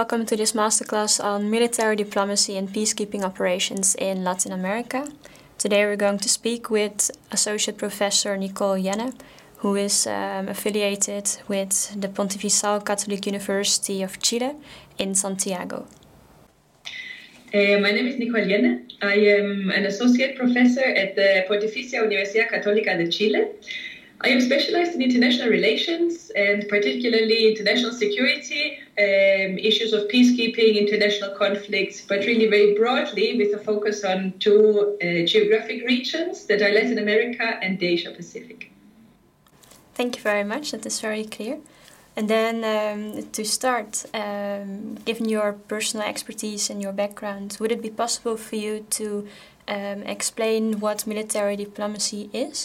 welcome to this masterclass on military diplomacy and peacekeeping operations in Latin America. Today we're going to speak with Associate Professor Nicole Jenne, who is affiliated with the Pontifical Catholic University of Chile in Santiago. My name is Nicole Jenne. I am an associate professor at the Pontificia Universidad Católica de Chile. I am specialized in international relations and particularly international security, issues of peacekeeping, international conflicts, but really very broadly with a focus on two geographic regions that are Latin America and the Asia Pacific. Thank you very much. That is very clear. And then to start, given your personal expertise and your background, would it be possible for you to explain what military diplomacy is?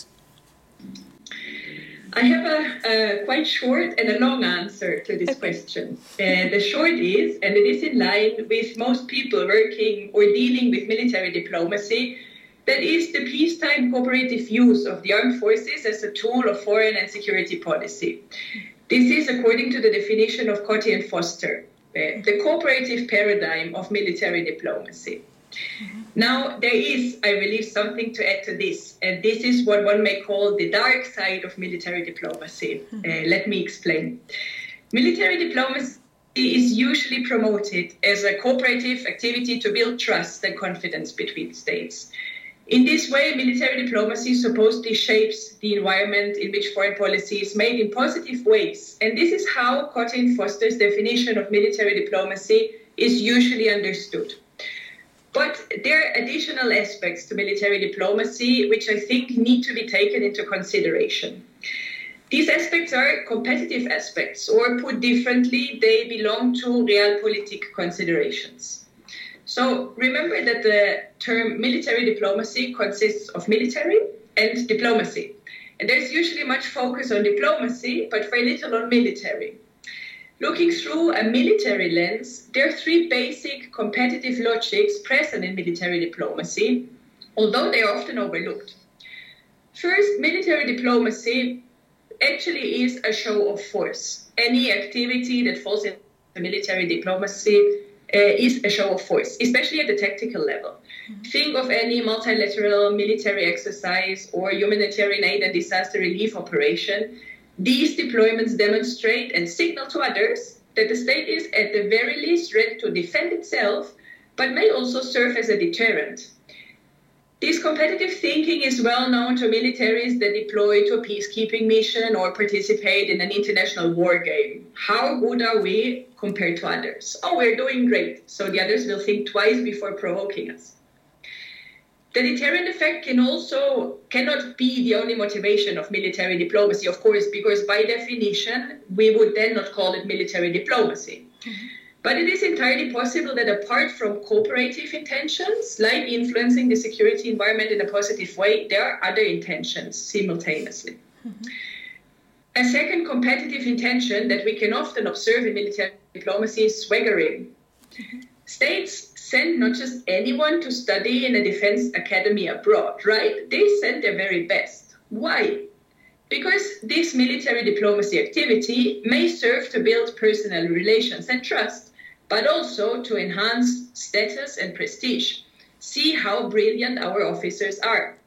I have a quite short and a long answer to this question. The short is, and it is in line with most people working or dealing with military diplomacy, that is the peacetime cooperative use of the armed forces as a tool of foreign and security policy. This is according to the definition of Coty and Foster, the cooperative paradigm of military diplomacy. Mm-hmm. Now, there is, I believe, something to add to this, and this is what one may call the dark side of military diplomacy. Mm-hmm. Let me explain. Military diplomacy is usually promoted as a cooperative activity to build trust and confidence between states. In this way, military diplomacy supposedly shapes the environment in which foreign policy is made in positive ways, and this is how Coty and Foster's definition of military diplomacy is usually understood. But there are additional aspects to military diplomacy which I think need to be taken into consideration. These aspects are competitive aspects, or put differently, they belong to realpolitik considerations. So remember that the term military diplomacy consists of military and diplomacy. And there's usually much focus on diplomacy, but very little on military. Looking through a military lens, there are three basic competitive logics present in military diplomacy, although they are often overlooked. First, military diplomacy actually is a show of force. Any activity that falls into military diplomacy is a show of force, especially at the tactical level. Mm-hmm. Think of any multilateral military exercise or humanitarian aid and disaster relief operation. These deployments demonstrate and signal to others that the state is at the very least ready to defend itself, but may also serve as a deterrent. This competitive thinking is well known to militaries that deploy to a peacekeeping mission or participate in an international war game. How good are we compared to others? Oh, we're doing great, so the others will think twice before provoking us. The deterrent effect cannot be the only motivation of military diplomacy, of course, because by definition, we would then not call it military diplomacy. Mm-hmm. But it is entirely possible that apart from cooperative intentions, like influencing the security environment in a positive way, there are other intentions simultaneously. Mm-hmm. A second competitive intention that we can often observe in military diplomacy is swaggering. Mm-hmm. States send not just anyone to study in a defense academy abroad, right? They send their very best. Why? Because this military diplomacy activity may serve to build personal relations and trust, but also to enhance status and prestige. See how brilliant our officers are.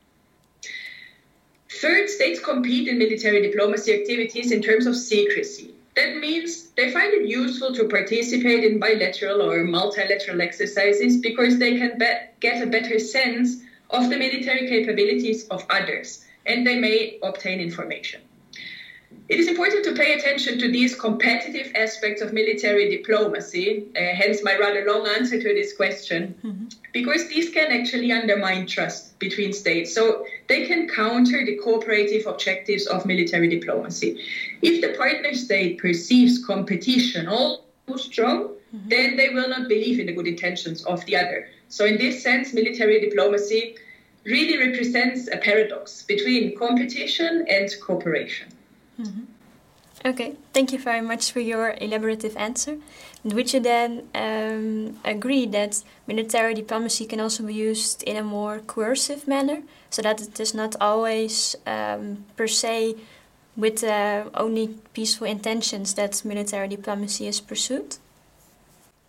Third, states compete in military diplomacy activities in terms of secrecy. That means they find it useful to participate in bilateral or multilateral exercises because they can get a better sense of the military capabilities of others, and they may obtain information. It is important to pay attention to these competitive aspects of military diplomacy, hence my rather long answer to this question, mm-hmm. because these can actually undermine trust between states. So they can counter the cooperative objectives of military diplomacy. If the partner state perceives competition all too strong, mm-hmm. then they will not believe in the good intentions of the other. So in this sense, military diplomacy really represents a paradox between competition and cooperation. Mm-hmm. Okay, thank you very much for your elaborative answer. And would you then agree that military diplomacy can also be used in a more coercive manner, so that it is not always per se with only peaceful intentions that military diplomacy is pursued?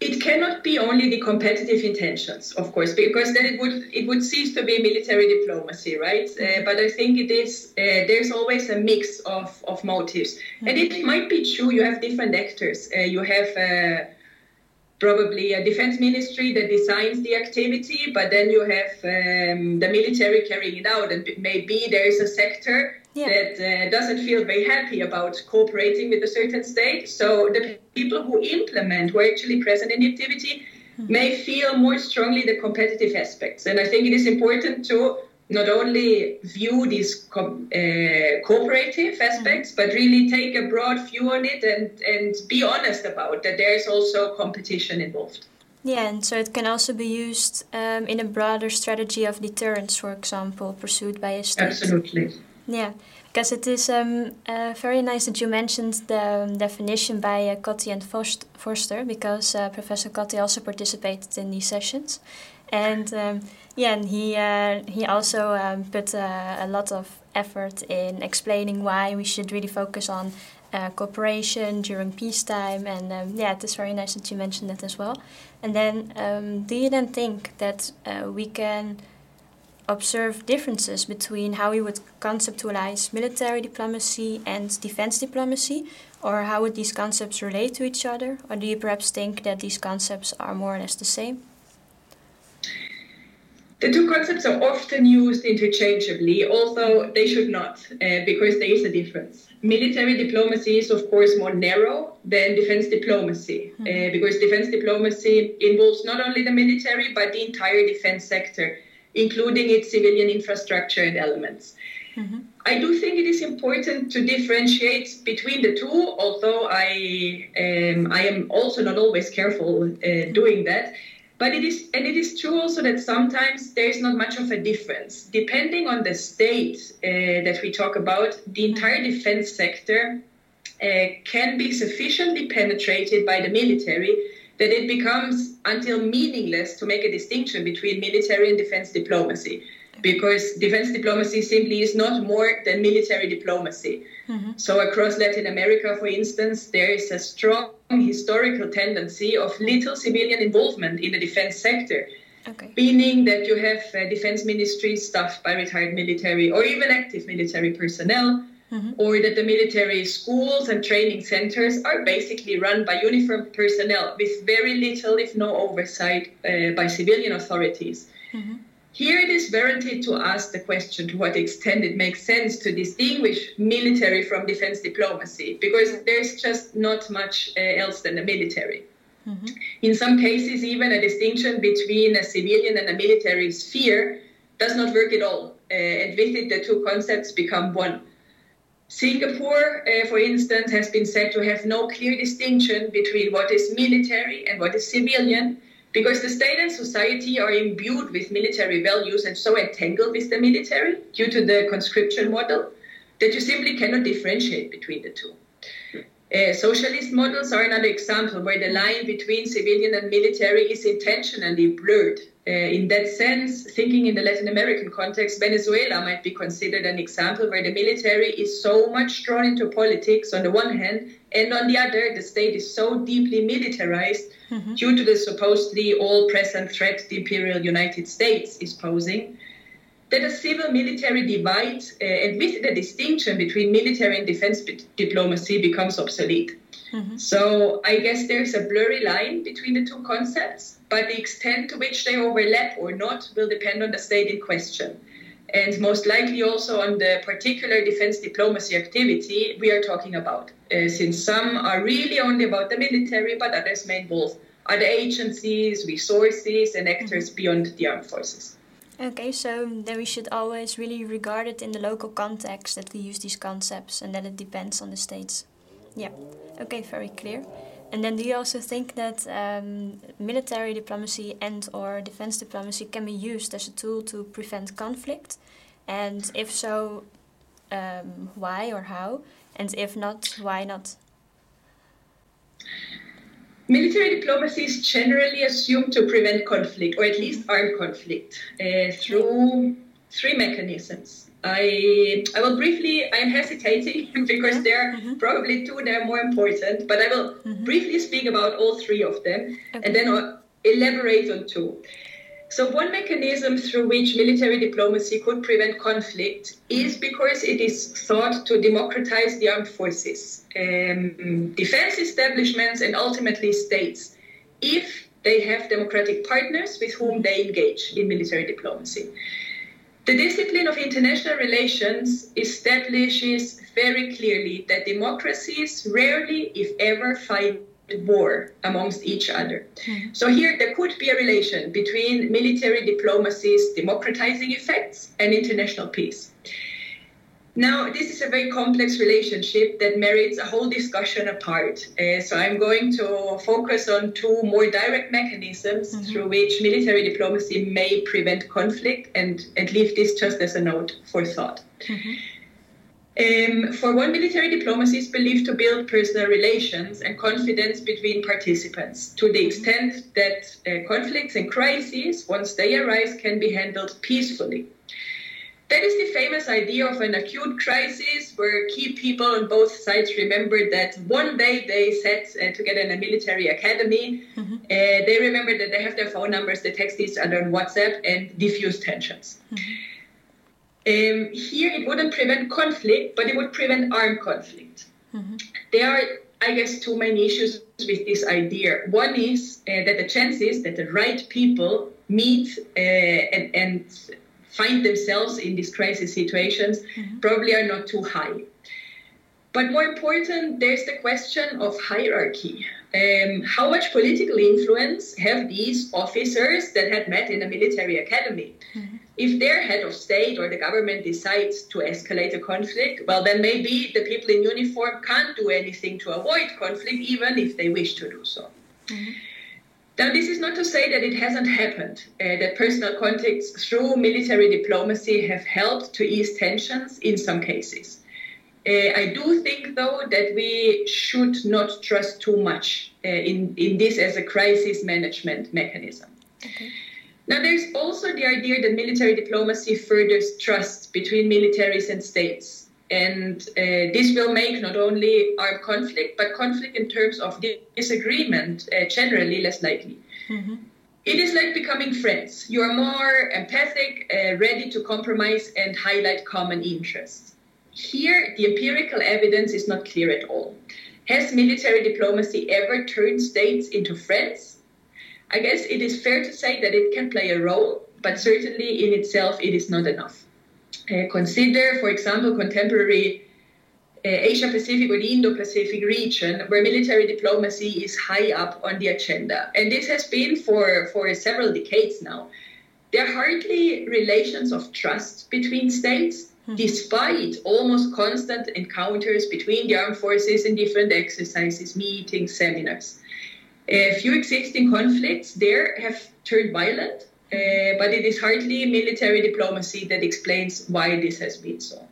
It cannot be only the competitive intentions, of course, because then it would cease to be military diplomacy, right? But I think it is there's always a mix of motives, and it might be true. You have different actors. You have probably a defense ministry that designs the activity, but then you have the military carrying it out, and maybe there is a sector that doesn't feel very happy about cooperating with a certain state. So the people who implement, who are actually present in the activity, may feel more strongly the competitive aspects. And I think it is important to not only view these cooperative aspects, but really take a broad view on it and be honest about that there is also competition involved. Yeah, and so it can also be used in a broader strategy of deterrence, for example, pursued by a state. Absolutely. Yeah, because it is very nice that you mentioned the definition by Cotti and Forster, because Professor Cotti also participated in these sessions. And and he also put a lot of effort in explaining why we should really focus on cooperation during peacetime. And it is very nice that you mentioned that as well. And then do you then think that we can observe differences between how we would conceptualize military diplomacy and defense diplomacy, or how would these concepts relate to each other? Or do you perhaps think that these concepts are more or less the same? The two concepts are often used interchangeably, although they should not, because there is a difference. Military diplomacy is, of course, more narrow than defense diplomacy, because defense diplomacy involves not only the military, but the entire defense sector, including its civilian infrastructure and elements. I do think it is important to differentiate between the two, although I am also not always careful doing that. But it is true also that sometimes there is not much of a difference. Depending on the state that we talk about, the entire defense sector can be sufficiently penetrated by the military that it becomes until meaningless to make a distinction between military and defense diplomacy, because defense diplomacy simply is not more than military diplomacy. So across Latin America, for instance, there is a strong historical tendency of little civilian involvement in the defense sector, meaning that you have defense ministries staffed by retired military or even active military personnel, or that the military schools and training centers are basically run by uniformed personnel with very little, if no oversight, by civilian authorities. Here it is warranted to ask the question to what extent it makes sense to distinguish military from defense diplomacy, because there's just not much else than the military. In some cases, even a distinction between a civilian and a military sphere does not work at all, and with it the two concepts become one. Singapore, for instance, has been said to have no clear distinction between what is military and what is civilian, because the state and society are imbued with military values and so entangled with the military due to the conscription model that you simply cannot differentiate between the two. Socialist models are another example where the line between civilian and military is intentionally blurred. In that sense, thinking in the Latin American context, Venezuela might be considered an example where the military is so much drawn into politics on the one hand, and on the other, the state is so deeply militarized due to the supposedly all-present threat the imperial United States is posing, that a civil-military divide and with the distinction between military and defense diplomacy becomes obsolete. So I guess there's a blurry line between the two concepts, but the extent to which they overlap or not will depend on the state in question. And most likely also on the particular defense diplomacy activity we are talking about, since some are really only about the military, but others may involve other agencies, resources, and actors beyond the armed forces. Okay, so then we should always really regard it in the local context that we use these concepts, and that it depends on the states. Yeah, okay, very clear. And then do you also think that military diplomacy and or defense diplomacy can be used as a tool to prevent conflict? And if so, why or how? And if not, why not? Military diplomacy is generally assumed to prevent conflict, or at least armed conflict, through three mechanisms. I'm hesitating because there are probably two that are more important, but I will briefly speak about all three of them, and then I'll elaborate on two. So one mechanism through which military diplomacy could prevent conflict is because it is thought to democratize the armed forces, defense establishments, and ultimately states, if they have democratic partners with whom they engage in military diplomacy. The discipline of international relations establishes very clearly that democracies rarely, if ever, fight war amongst each other. So here there could be a relation between military diplomacy's democratizing effects and international peace. Now, this is a very complex relationship that merits a whole discussion apart. So I'm going to focus on two more direct mechanisms through which military diplomacy may prevent conflict, and leave this just as a note for thought. For one, military diplomacy is believed to build personal relations and confidence between participants to the extent that conflicts and crises, once they arise, can be handled peacefully. That is the famous idea of an acute crisis where key people on both sides remember that one day they sat together in a military academy. They remember that they have their phone numbers, they text each other on WhatsApp and diffuse tensions. Here it wouldn't prevent conflict, but it would prevent armed conflict. There are, I guess, two main issues with this idea. One is that the chances that the right people meet and find themselves in these crisis situations probably are not too high. But more important, there's the question of hierarchy. How much political influence have these officers that had met in a military academy? If their head of state or the government decides to escalate a conflict, well, then maybe the people in uniform can't do anything to avoid conflict, even if they wish to do so. Now, this is not to say that it hasn't happened, that personal contacts through military diplomacy have helped to ease tensions in some cases. I do think, though, that we should not trust too much in this as a crisis management mechanism. Now, there's also the idea that military diplomacy furthers trust between militaries and states. And this will make not only armed conflict, but conflict in terms of disagreement generally less likely. It is like becoming friends. You are more empathic, ready to compromise and highlight common interests. Here, the empirical evidence is not clear at all. Has military diplomacy ever turned states into friends? I guess it is fair to say that it can play a role, but certainly in itself it is not enough. Consider, for example, contemporary Asia-Pacific or the Indo-Pacific region, where military diplomacy is high up on the agenda. And this has been for several decades now. There are hardly relations of trust between states, despite almost constant encounters between the armed forces in different exercises, meetings, seminars. A few existing conflicts there have turned violent, but it is hardly military diplomacy that explains why this has been so.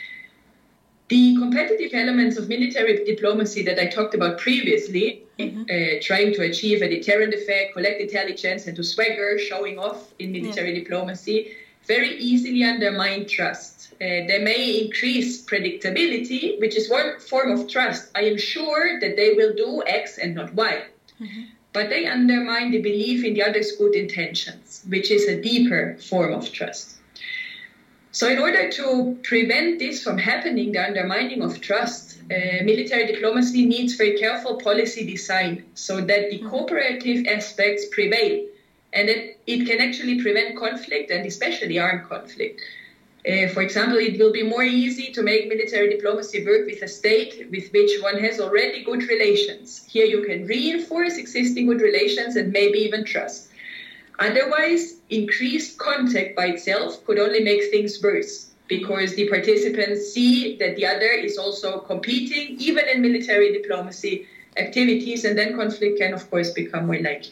The competitive elements of military diplomacy that I talked about previously, trying to achieve a deterrent effect, collect intelligence, and to swagger, showing off in military diplomacy, very easily undermine trust. They may increase predictability, which is one form of trust. I am sure that they will do X and not Y. But they undermine the belief in the other's good intentions, which is a deeper form of trust. So in order to prevent this from happening, the undermining of trust, military diplomacy needs very careful policy design so that the cooperative aspects prevail and that it can actually prevent conflict, and especially armed conflict. For example, it will be more easy to make military diplomacy work with a state with which one has already good relations. Here you can reinforce existing good relations and maybe even trust. Otherwise, increased contact by itself could only make things worse, because the participants see that the other is also competing, even in military diplomacy activities, and then conflict can, of course, become more likely.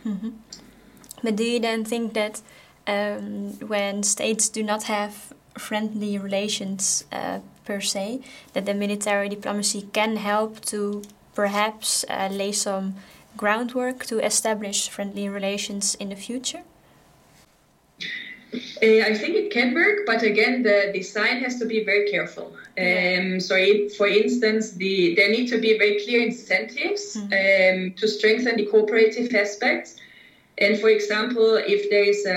But do you then think that when states do not have friendly relations per se, that the military diplomacy can help to perhaps lay some groundwork to establish friendly relations in the future? I think it can work, but again, the design has to be very careful. For instance, there need to be very clear incentives to strengthen the cooperative aspects. And for example, if there is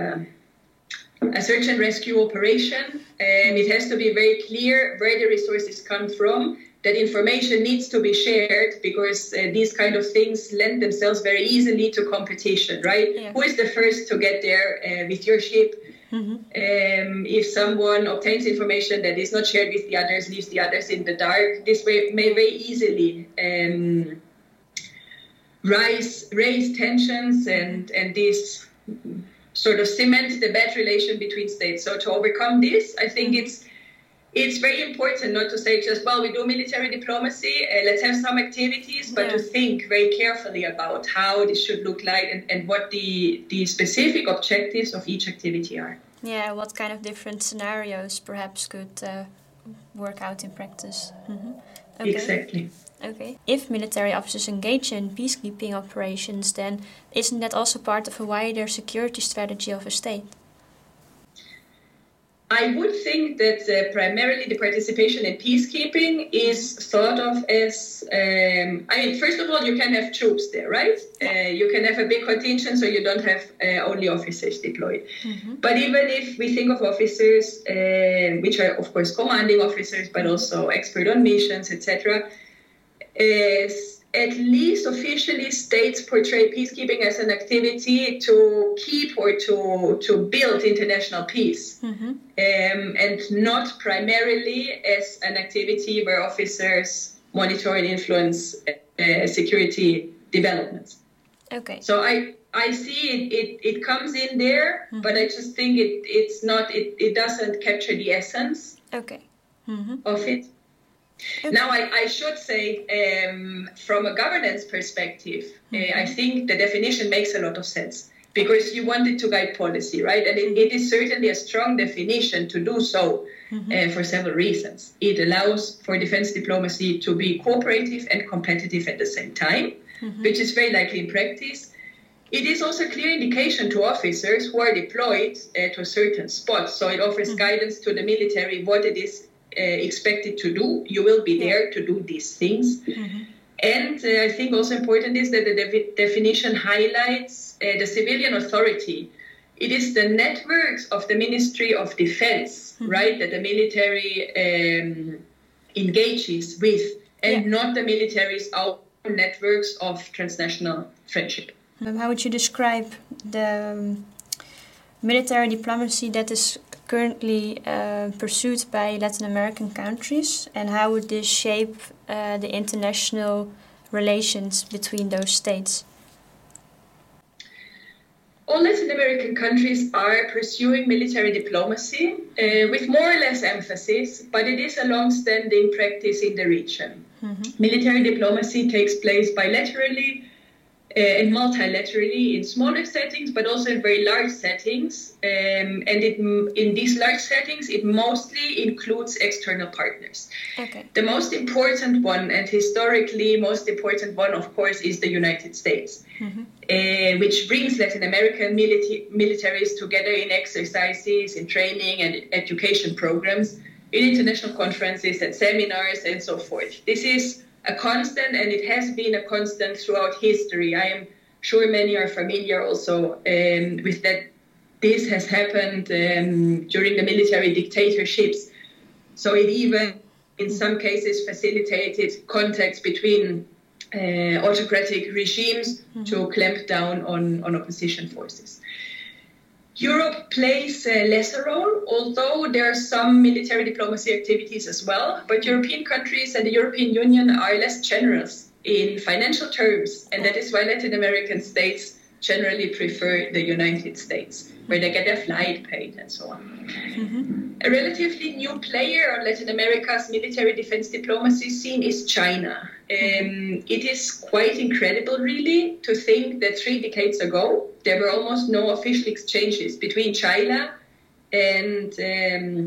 a search and rescue operation, it has to be very clear where the resources come from. That information needs to be shared because these kind of things lend themselves very easily to competition, right? Yeah. Who is the first to get there with your ship? If someone obtains information that is not shared with the others, leaves the others in the dark, this may very easily raise tensions and this sort of cement the bad relation between states. So to overcome this, I think it's very important not to say just, well, we do military diplomacy, let's have some activities, but to think very carefully about how this should look like and what the specific objectives of each activity are. Yeah, what kind of different scenarios perhaps could work out in practice. Okay. Exactly. Okay. If military officers engage in peacekeeping operations, then isn't that also part of a wider security strategy of a state? I would think that primarily the participation in peacekeeping is thought of as, first of all, you can have troops there, right? You can have a big contingent, so you don't have only officers deployed. But even if we think of officers, which are, of course, commanding officers, but also expert on missions, etc., at least officially states portray peacekeeping as an activity to keep or to build international peace, and not primarily as an activity where officers monitor and influence security developments. Okay. So I see it comes in there, but I just think it doesn't capture the essence of it. Okay. Now, I should say, from a governance perspective, I think the definition makes a lot of sense because you want it to guide policy, right? And it is certainly a strong definition to do so for several reasons. It allows for defense diplomacy to be cooperative and competitive at the same time, which is very likely in practice. It is also a clear indication to officers who are deployed to a certain spot. So it offers guidance to the military what it is expected to do. You will be there to do these things. And I think also important is that the definition highlights the civilian authority. It is the networks of the Ministry of Defense, right, that the military engages with, and not the military's own networks of transnational friendship. How would you describe the military diplomacy that is currently pursued by Latin American countries, and how would this shape the international relations between those states? All Latin American countries are pursuing military diplomacy with more or less emphasis, but it is a long-standing practice in the region. Military diplomacy takes place bilaterally and multilaterally in smaller settings, but also in very large settings. And in these large settings, it mostly includes external partners. Okay. The most important one, and historically most important one, of course, is the United States, which brings Latin American militaries together in exercises, in training and education programs, in international conferences and seminars and so forth. This is a constant, and it has been a constant throughout history. I am sure many are familiar also with that. This has happened during the military dictatorships. So it even, in some cases, facilitated contacts between autocratic regimes to clamp down on opposition forces. Europe plays a lesser role, although there are some military diplomacy activities as well. But European countries and the European Union are less generous in financial terms, and that is why Latin American states generally prefer the United States, where they get their flight paid and so on. A relatively new player on Latin America's military defense diplomacy scene is China. It is quite incredible, really, to think that 3 decades ago, there were almost no official exchanges between China and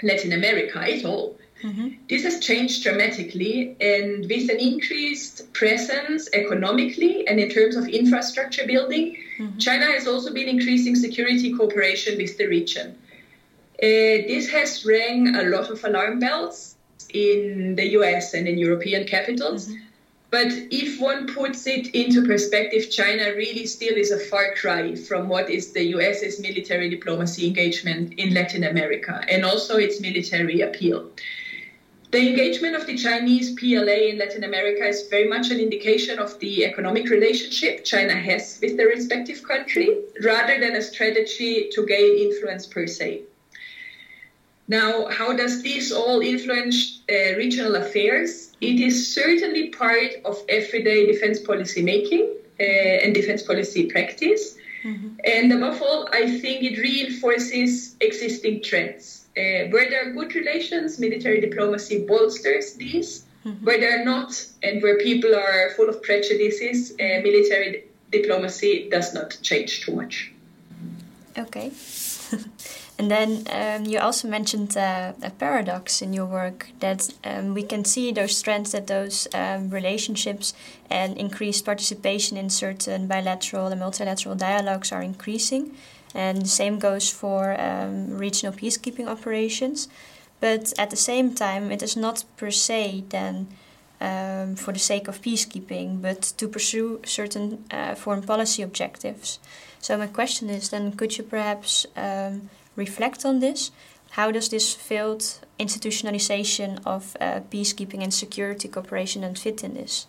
Latin America at all. This has changed dramatically, and with an increased presence economically and in terms of infrastructure building, China has also been increasing security cooperation with the region. This has rang a lot of alarm bells in the US and in European capitals. But if one puts it into perspective, China really still is a far cry from what is the US's military diplomacy engagement in Latin America and also its military appeal. The engagement of the Chinese PLA in Latin America is very much an indication of the economic relationship China has with the respective country, rather than a strategy to gain influence per se. Now, how does this all influence regional affairs? It is certainly part of everyday defense policy making and defense policy practice. And above all, I think it reinforces existing trends. Where there are good relations, military diplomacy bolsters these. Where there are not, and where people are full of prejudices, military diplomacy does not change too much. Okay. And then you also mentioned a paradox in your work, that we can see those trends, that those relationships and increased participation in certain bilateral and multilateral dialogues are increasing. And the same goes for regional peacekeeping operations. But at the same time, it is not per se then for the sake of peacekeeping, but to pursue certain foreign policy objectives. So my question is then, could you perhaps reflect on this? How does this failed institutionalization of peacekeeping and security cooperation then fit in this?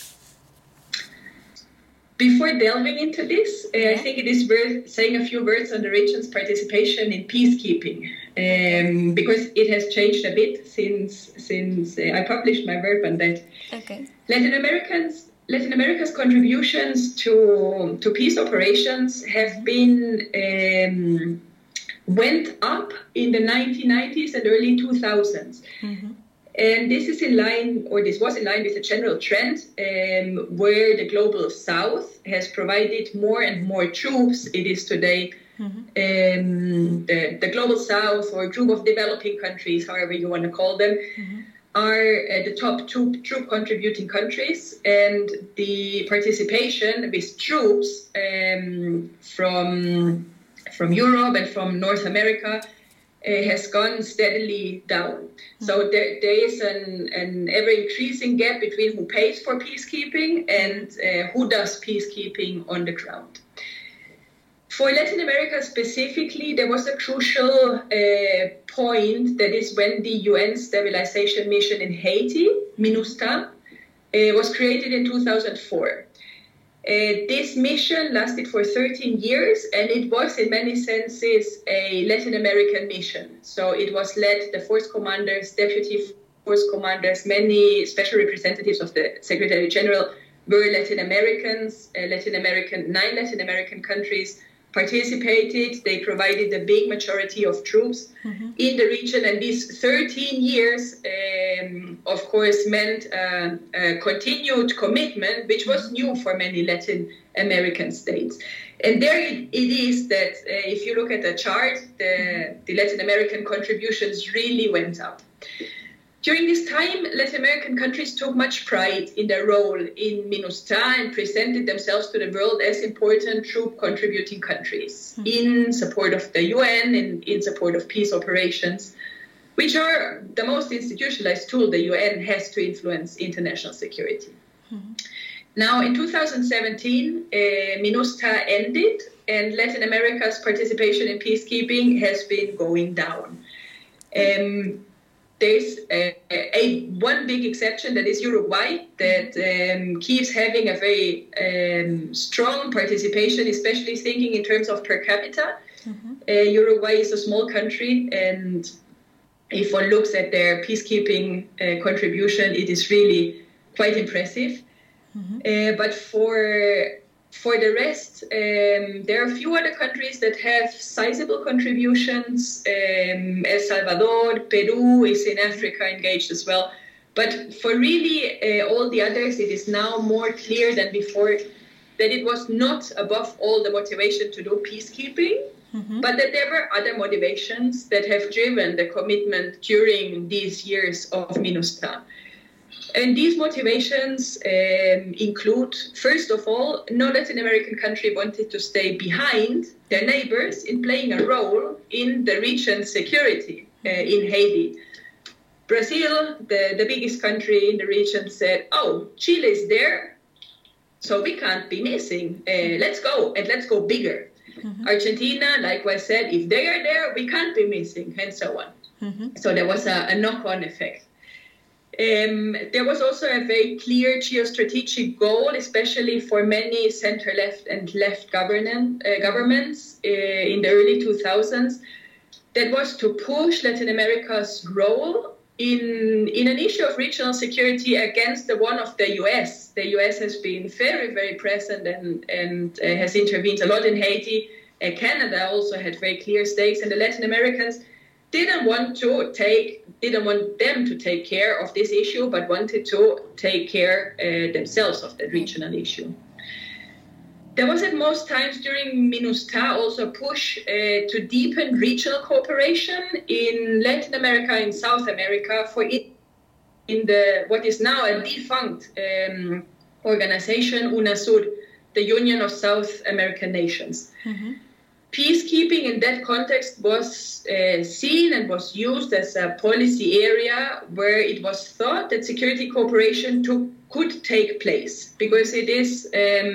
Before delving into this, I think it is worth saying a few words on the region's participation in peacekeeping, because it has changed a bit since I published my work on that. Okay. Latin America's contributions to peace operations have been went up in the 1990s and early 2000s. And this is in line, or this was in line with a general trend where the global south has provided more and more troops. It is today the global south, or group of developing countries, however you want to call them, are the top two troop contributing countries, and the participation with troops from Europe and from North America has gone steadily down. So there is an ever-increasing gap between who pays for peacekeeping and who does peacekeeping on the ground. For Latin America specifically, there was a crucial point, that is when the UN stabilization mission in Haiti, MINUSTAH, was created in 2004. This mission lasted for 13 years, and it was in many senses a Latin American mission. So it was led, the force commanders, deputy force commanders, many special representatives of the Secretary General were Latin Americans. 9 Latin American countries participated. They provided the big majority of troops in the region, and these 13 years, of course, meant a continued commitment, which was new for many Latin American states. And there it is that if you look at the chart, the Latin American contributions really went up. During this time, Latin American countries took much pride in their role in MINUSTAH and presented themselves to the world as important troop-contributing countries in support of the UN and in support of peace operations, which are the most institutionalized tool the UN has to influence international security. Now, in 2017, MINUSTAH ended, and Latin America's participation in peacekeeping has been going down. There's one big exception, that is Uruguay, that keeps having a very strong participation, especially thinking in terms of per capita. Uruguay is a small country, and if one looks at their peacekeeping contribution, it is really quite impressive. But for the rest, there are a few other countries that have sizable contributions. El Salvador, Peru is in Africa engaged as well. But for really all the others, it is now more clear than before that it was not above all the motivation to do peacekeeping, but that there were other motivations that have driven the commitment during these years of MINUSTAH. And these motivations include, first of all, no Latin American country wanted to stay behind their neighbors in playing a role in the region's security in Haiti. Brazil, the biggest country in the region, said, oh, Chile is there, so we can't be missing. Let's go, and let's go bigger. Argentina, likewise, said, if they are there, we can't be missing, and so on. So there was a knock-on effect. There was also a very clear geostrategic goal, especially for many center-left and left governments in the early 2000s, that was to push Latin America's role in an issue of regional security against the one of the U.S. The U.S. has been very, very present and has intervened a lot in Haiti. Canada also had very clear stakes, and the Latin Americans didn't want them to take care of this issue, but wanted to take care themselves of the regional issue. There was at most times during MINUSTAH also a push to deepen regional cooperation in Latin America and South America in what is now a defunct organization, UNASUR, the Union of South American Nations. Peacekeeping in that context was seen and was used as a policy area where it was thought that security cooperation could take place because it is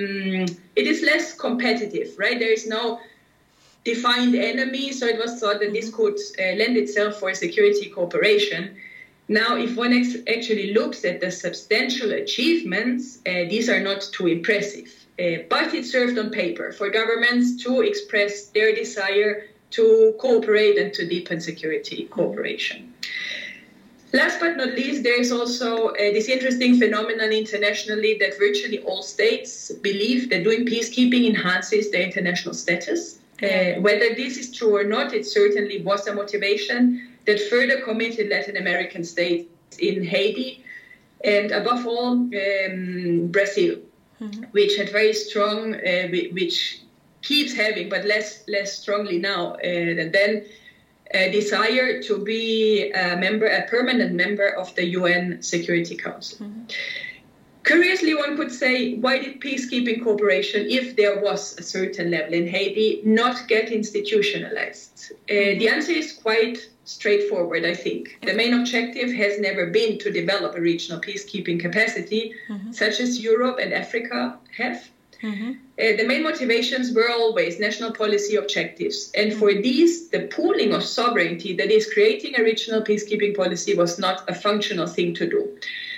less competitive, right? There is no defined enemy, so it was thought that this could lend itself for security cooperation. Now, if one actually looks at the substantial achievements, these are not too impressive. But it served on paper for governments to express their desire to cooperate and to deepen security cooperation. Last but not least, there is also this interesting phenomenon internationally that virtually all states believe that doing peacekeeping enhances their international status. Whether this is true or not, it certainly was a motivation that further committed Latin American states in Haiti and above all Brazil. Which had very strong, which keeps having, but less strongly now, and then a desire to be a permanent member of the UN Security Council. Curiously, one could say, why did peacekeeping cooperation, if there was a certain level in Haiti, not get institutionalized? The answer is quite straightforward, I think. The main objective has never been to develop a regional peacekeeping capacity, such as Europe and Africa have. The main motivations were always national policy objectives. And for these, the pooling of sovereignty, that is creating a regional peacekeeping policy, was not a functional thing to do.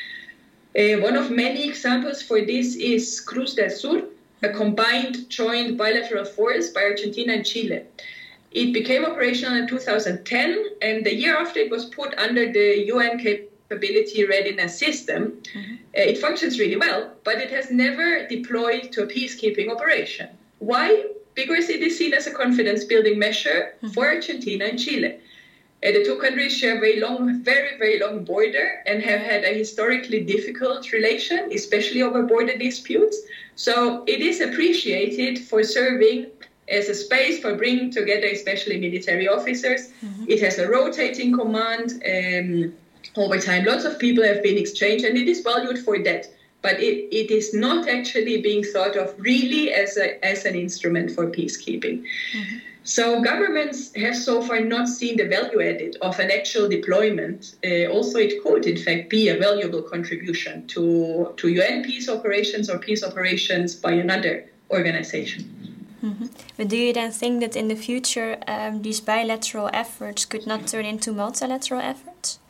One of many examples for this is Cruz del Sur, a combined joint bilateral force by Argentina and Chile. It became operational in 2010, and the year after it was put under the UN Capability Readiness System. It functions really well, but it has never deployed to a peacekeeping operation. Why? Because it is seen as a confidence-building measure for Argentina and Chile. The two countries share a very, very long border and have had a historically difficult relation, especially over border disputes. So it is appreciated for serving as a space for bringing together especially military officers. It has a rotating command. Over time, lots of people have been exchanged, and it is valued for that. But it is not actually being thought of really as an instrument for peacekeeping. So governments have so far not seen the value added of an actual deployment. Also, it could, in fact, be a valuable contribution to UN peace operations or peace operations by another organization. But do you then think that in the future these bilateral efforts could not turn into multilateral efforts?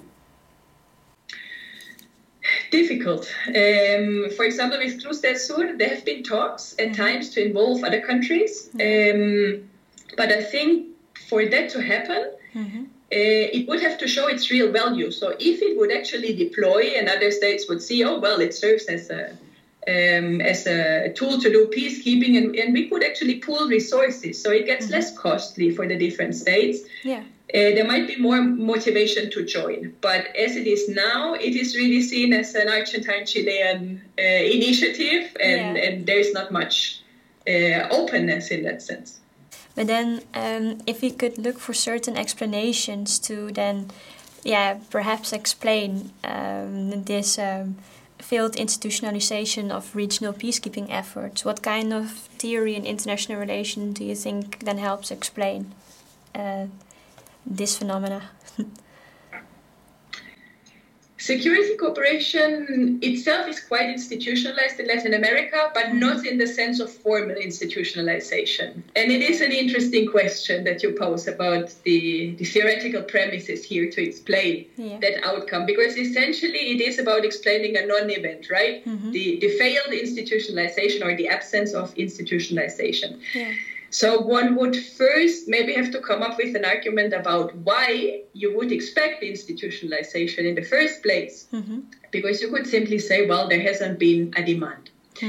Difficult. For example, with Cruz del Sur, there have been talks at times to involve other countries. But I think for that to happen, it would have to show its real value. So if it would actually deploy and other states would see, oh, well, it serves as a tool to do peacekeeping, and we could actually pool resources, so it gets less costly for the different states. There might be more motivation to join. But as it is now, it is really seen as an Argentine-Chilean initiative, and there is not much openness in that sense. But then if we could look for certain explanations to then, perhaps explain this failed institutionalization of regional peacekeeping efforts, what kind of theory in international relations do you think then helps explain this phenomena? Security cooperation itself is quite institutionalized in Latin America, but not in the sense of formal institutionalization. And it is an interesting question that you pose about the theoretical premises here to explain that outcome, because essentially it is about explaining a non-event, right? The failed institutionalization or the absence of institutionalization. Yeah. So one would first maybe have to come up with an argument about why you would expect institutionalization in the first place. Because you could simply say, well, there hasn't been a demand.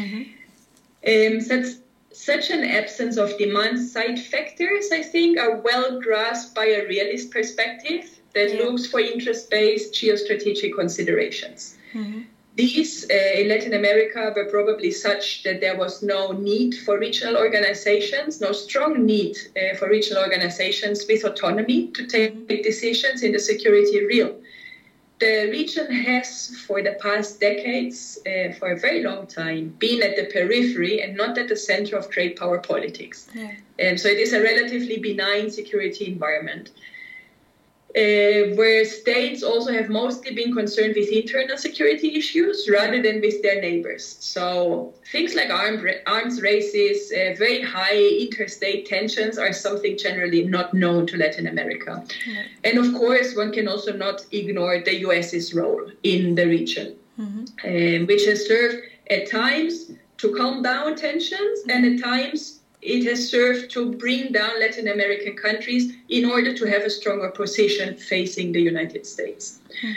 Such an absence of demand-side factors, I think, are well grasped by a realist perspective that looks for interest-based geostrategic considerations. These in Latin America were probably such that there was no need for regional organizations, no strong need for regional organizations with autonomy to take decisions in the security realm. The region has, for the past decades, for a very long time, been at the periphery and not at the center of great power politics. So it is a relatively benign security environment. Where states also have mostly been concerned with internal security issues rather than with their neighbors. So things like arms races, very high interstate tensions are something generally not known to Latin America. And of course, one can also not ignore the US's role in the region, which has served at times to calm down tensions and at times it has served to bring down Latin American countries in order to have a stronger position facing the United States.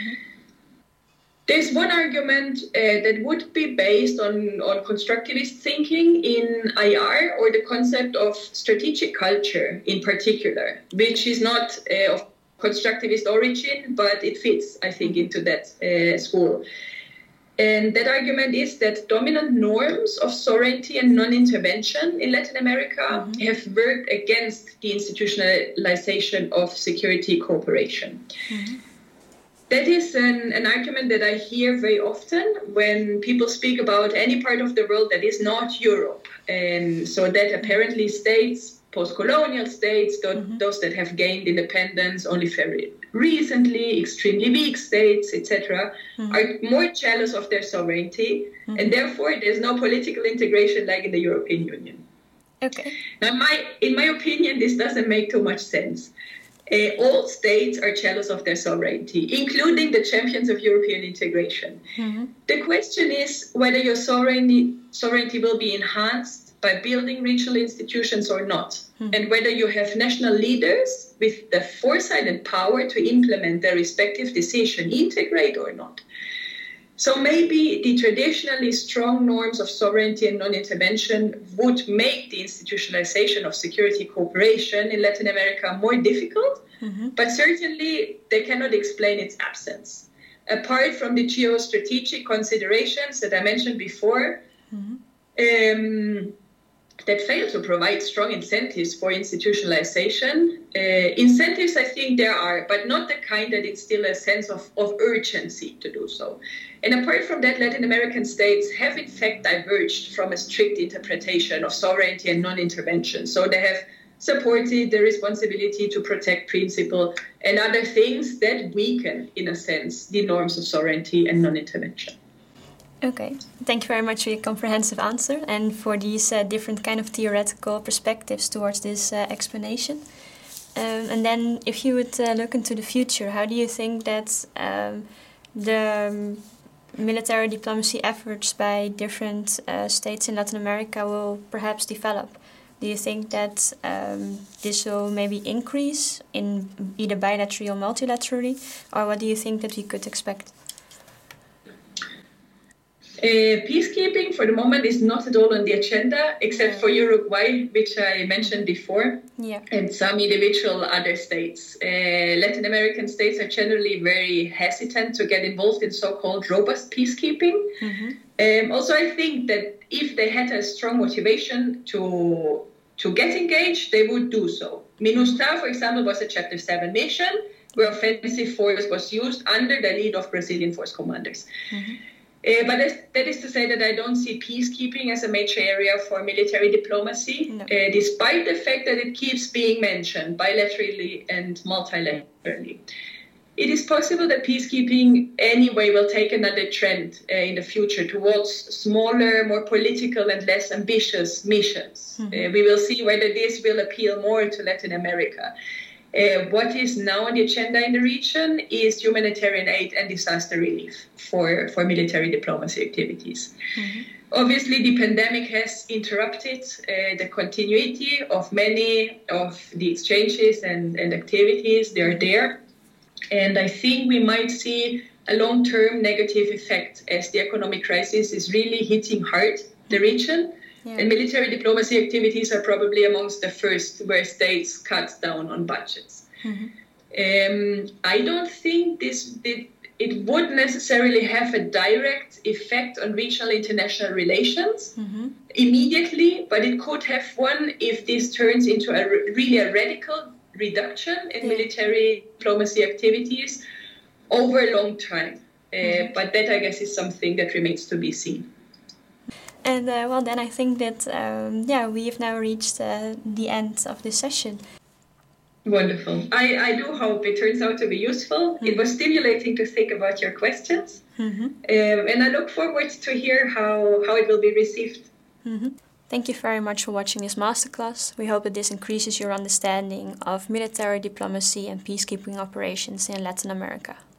There's one argument that would be based on constructivist thinking in IR, or the concept of strategic culture in particular, which is not of constructivist origin, but it fits, I think, into that school. And that argument is that dominant norms of sovereignty and non-intervention in Latin America have worked against the institutionalization of security cooperation. That is an argument that I hear very often when people speak about any part of the world that is not Europe. And so that apparently states, post-colonial states, those that have gained independence only very recently, extremely weak states, etc., are more jealous of their sovereignty, and therefore there's no political integration like in the European Union. Now, in my opinion, this doesn't make too much sense. All states are jealous of their sovereignty, including the champions of European integration. The question is whether your sovereignty will be enhanced by building regional institutions or not, and whether you have national leaders with the foresight and power to implement their respective decision, integrate or not. So maybe the traditionally strong norms of sovereignty and non-intervention would make the institutionalization of security cooperation in Latin America more difficult, but certainly they cannot explain its absence. Apart from the geostrategic considerations that I mentioned before, that fail to provide strong incentives for institutionalization. Incentives, I think there are, but not the kind that instill a sense of urgency to do so. And apart from that, Latin American states have in fact diverged from a strict interpretation of sovereignty and non-intervention. So they have supported the responsibility to protect principle and other things that weaken, in a sense, the norms of sovereignty and non-intervention. Okay, thank you very much for your comprehensive answer and for these different kind of theoretical perspectives towards this explanation. And then if you would look into the future, how do you think that the military diplomacy efforts by different states in Latin America will perhaps develop? Do you think that this will maybe increase in either bilaterally or multilaterally, or what do you think that we could expect? Peacekeeping for the moment is not at all on the agenda, except for Uruguay, which I mentioned before, and some individual other states. Latin American states are generally very hesitant to get involved in so-called robust peacekeeping. Also, I think that if they had a strong motivation to to get engaged, they would do so. MINUSTAH, for example, was a Chapter 7 mission where offensive force was used under the lead of Brazilian force commanders. But that is to say that I don't see peacekeeping as a major area for military diplomacy, despite the fact that it keeps being mentioned bilaterally and multilaterally. It is possible that peacekeeping anyway will take another trend in the future towards smaller, more political and less ambitious missions. We will see whether this will appeal more to Latin America. What is now on the agenda in the region is humanitarian aid and disaster relief for military diplomacy activities. Obviously, the pandemic has interrupted the continuity of many of the exchanges and activities. They are there. And I think we might see a long-term negative effect as the economic crisis is really hitting hard the region. And military diplomacy activities are probably amongst the first where states cut down on budgets. I don't think it would necessarily have a direct effect on regional international relations immediately, but it could have one if this turns into really a radical reduction in military diplomacy activities over a long time. But that, I guess, is something that remains to be seen. And well, then I think that, we've now reached the end of this session. Wonderful. I do hope it turns out to be useful. It was stimulating to think about your questions. And I look forward to hear how it will be received. Thank you very much for watching this masterclass. We hope that this increases your understanding of military diplomacy and peacekeeping operations in Latin America.